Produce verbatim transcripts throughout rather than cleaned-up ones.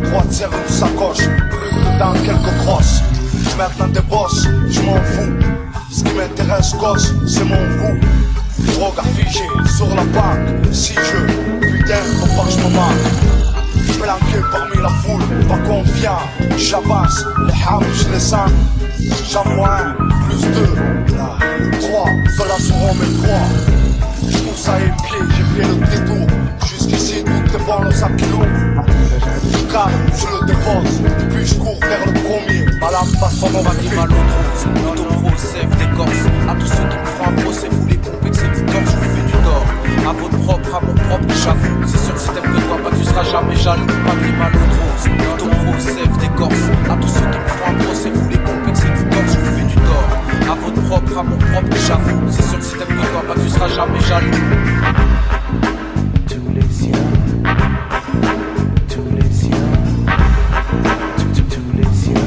droite serre une sacoche, dedans quelques crosses. Maintenant des bosses, je m'en fous. Ce qui m'intéresse, gosse, c'est mon goût. Regard figé sur la banque. Si je, putain, faut pas que je me marque. Planqué parmi la foule, pas confiant. J'avance, les hams, je les sens. J'en vois un, plus deux, là, trois. Ceux-là seront mes trois. Je pousse à pied, j'ai fait le détour. Jusqu'ici, tout est bon, le sac est lourd. Je calme, je le dépose. Puis je cours vers le premier. Ma lame passe son nom à qui mal au trou, auto-pro, sève des corses. À tous ceux qui me feront un procès, vous les pompez que c'est du tort, je vous fais du tort. À votre propre, à mon propre, j'avoue. C'est sûr que si t'aimes que toi, bah tu seras jamais jaloux. Pas de mal au trou, auto-pro, sève des corses. À tous ceux qui me feront un procès, vous les pompez que c'est du tort, je vous fais du tort. À votre propre, à mon propre, j'avoue. C'est sûr que si t'aimes que toi, bah tu seras jamais jaloux. Tous les siens, tous les siens, tous, tous les siens,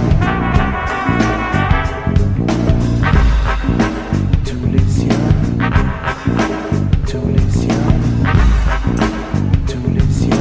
tous les siens, tous les siens, tous les siens.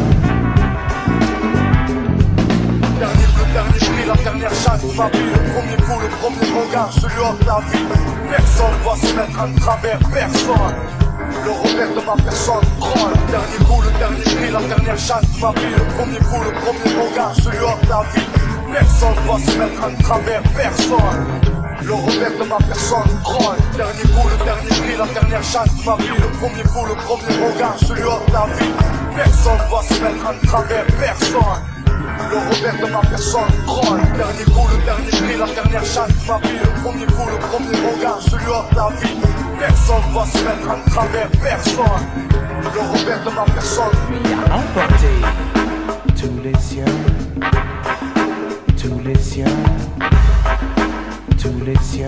Dernier bleu, dernier prix, la dernière chance de ma vie. Le premier coup, le premier regard, celui hors de la vie. Personne va se mettre en travers, personne. Le revers de ma personne, oh, le dernier coup, le dernier cri, la dernière chance de ma vie. Le premier coup, le premier regard, celui hors de la vie. Personne va se mettre en travers, personne. Le revers de ma personne, oh, le dernier coup, le dernier cri, la dernière chance de ma vie. Le premier coup, le premier regard, celui hors de la vie. Personne va se mettre en travers, personne. Le revers de ma personne, oh, le dernier coup, le dernier cri, la dernière chance de ma vie. Le premier coup, le premier regard, celui hors de la vie. Personne va se mettre en travers, personne. Le revers de ma personne. Emporté. Tous les siens, tous les siens, tous les siens,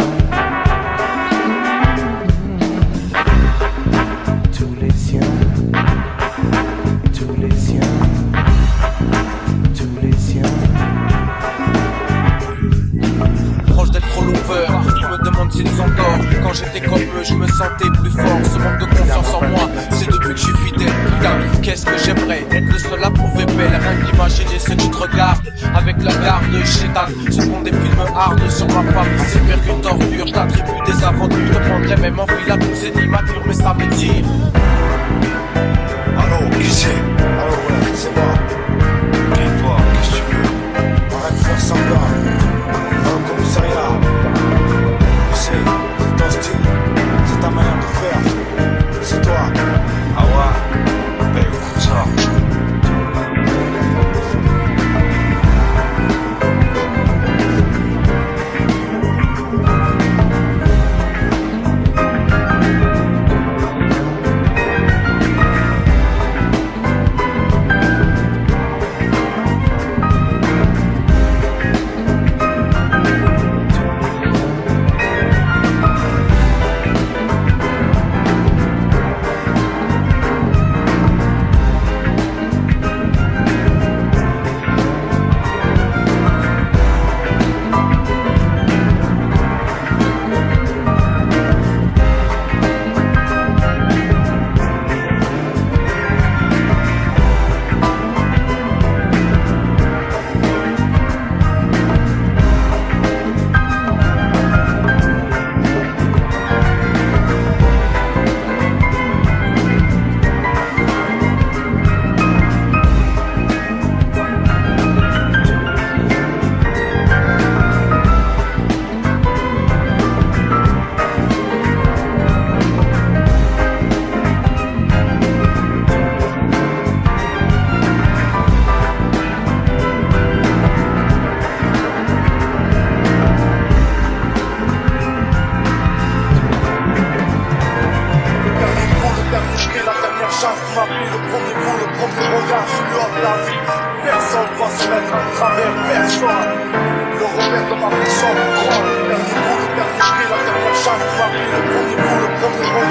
tous les siens, tous les siens, tous les siens. Proche d'être trop lover, ils me demandent s'ils sont tort. Quand j'étais comme eux, je me sentais plus fort. Ce manque de confiance en moi, c'est depuis que je suis fidèle. Putain, qu'est-ce que j'aimerais être le seul à prouver belle. Rien qu'imaginer ceux qui te regardent avec la garde de Chétan. Se font des films hard sur ma femme. C'est pire qu'une torture, je t'attribue des aventures. Je te prendrais même en fil à tous, c'est immature, mais ça veut dire. Allô, qui c'est? Allô, ouais, c'est moi. Et toi, qu'est-ce que tu veux? Arrête de faire semblant. Dans le commissariat. Tu sais, c'est ton style, c'est ta manière de faire. C'est toi. Ah ouais? Ben écoute ça.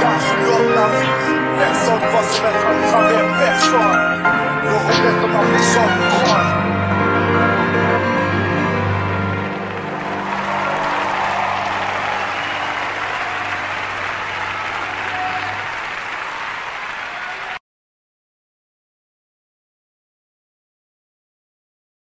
Personne va se mettre à travers personne. Le revers de ma personne.